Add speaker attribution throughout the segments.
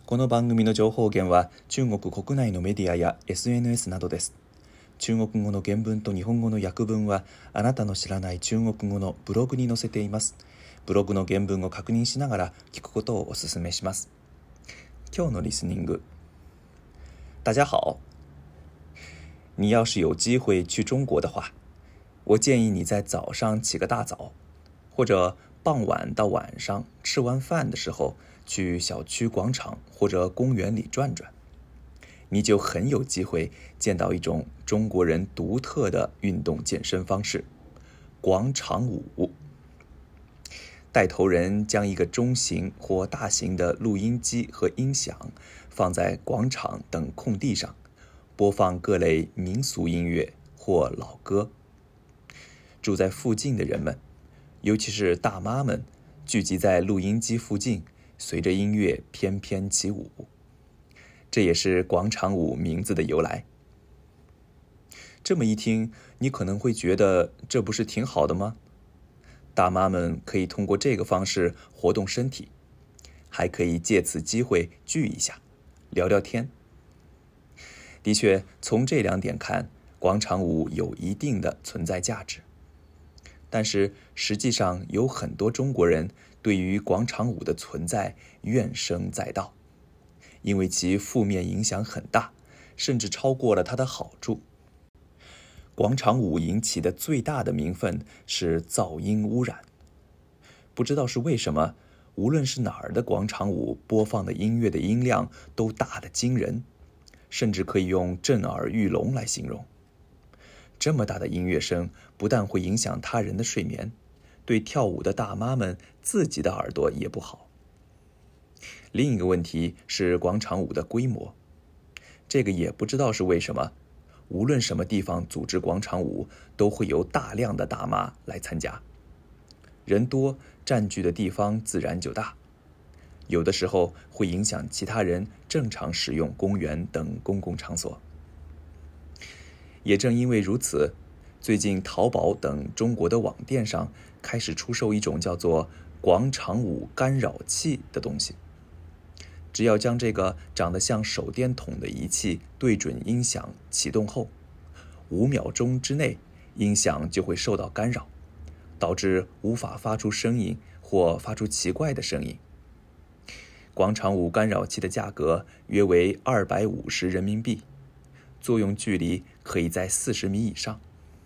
Speaker 1: この番組の情報源は中国国内のメディアや SNS などです。中国語の原文と日本語の訳文はあなたの知らない中国語のブログに載せています。ブログの原文を確認しながら聞くことをお勧めします。今日のリスニング。大家好。你要是有机会去中国的话，我建议你在早上起个大早，或者傍晚到晚上吃完饭的时候去小区广场或者公园里转转，你就很有机会见到一种中国人独特的运动健身方式——广场舞。带头人将一个中型或大型的录音机和音响放在广场等空地上，播放各类民俗音乐或老歌。住在附近的人们，尤其是大妈们，聚集在录音机附近，随着音乐翩翩起舞。这也是广场舞名字的由来。这么一听，你可能会觉得这不是挺好的吗？大妈们可以通过这个方式活动身体，还可以借此机会聚一下，聊聊天。的确，从这两点看，广场舞有一定的存在价值。但是实际上有很多中国人对于广场舞的存在怨声载道，因为其负面影响很大，甚至超过了它的好处。广场舞引起的最大的民愤是噪音污染。不知道是为什么，无论是哪儿的广场舞播放的音乐的音量都大得惊人，甚至可以用震耳欲聋来形容。这么大的音乐声不但会影响他人的睡眠，对跳舞的大妈们自己的耳朵也不好。另一个问题是广场舞的规模，这个也不知道是为什么，无论什么地方组织广场舞，都会有大量的大妈来参加。人多，占据的地方自然就大，有的时候会影响其他人正常使用公园等公共场所。也正因为如此，最近淘宝等中国的网店上开始出售一种叫做广场舞干扰器的东西。只要将这个长得像手电筒的仪器对准音响启动后，5秒钟之内音响就会受到干扰，导致无法发出声音或发出奇怪的声音。广场舞干扰器的价格约为250人民币，作用距离可以在40米以上。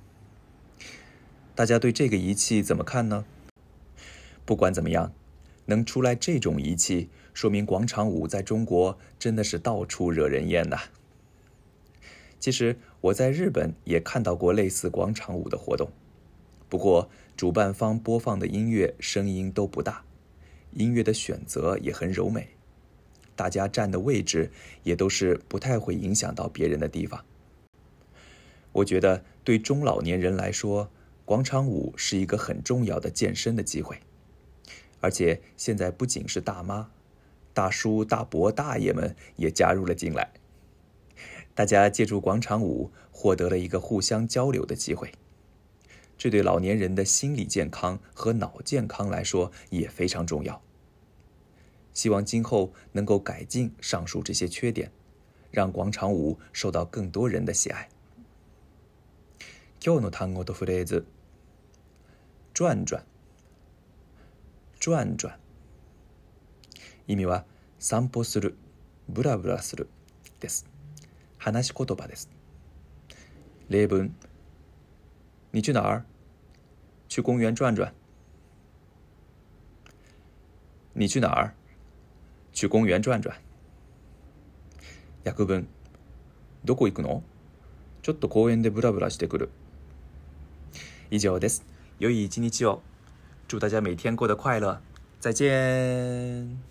Speaker 1: 大家对这个仪器怎么看呢？不管怎么样，能出来这种仪器，说明广场舞在中国真的是到处惹人厌呐。其实我在日本也看到过类似广场舞的活动，不过主办方播放的音乐声音都不大，音乐的选择也很柔美，大家站的位置也都是不太会影响到别人的地方。我觉得对中老年人来说，广场舞是一个很重要的健身的机会。而且现在不仅是大妈，大叔、大伯、大爷们也加入了进来。大家借助广场舞获得了一个互相交流的机会，这对老年人的心理健康和脑健康来说也非常重要。希望今后能够改进上述这些缺点，让广场舞受到更多人的喜爱。今日の単語とフレーズ。转转。转转。意味は散歩する、ブラブラするです。話し言葉です。例文。你去哪儿？去公园转转。你去哪儿？去公園转转。訳文。どこ行くの？ちょっと公園でブラブラしてくる。以上です。良い一日を。祝大家每天过得快乐。再见。